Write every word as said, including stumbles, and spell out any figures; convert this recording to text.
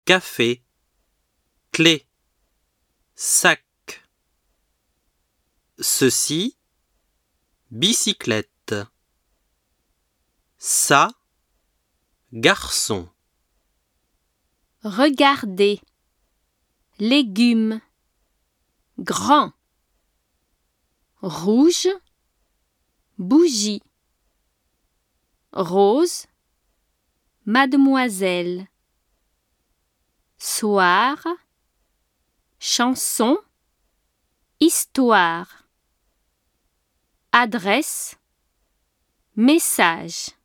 café, clé, sac. Ceci, bicyclette. Ça, garçon. Regardez. Légumes. Grand. Rouge. Bougie. Rose. Mademoiselle. Soir. Chanson. Histoire. Adresse. Message.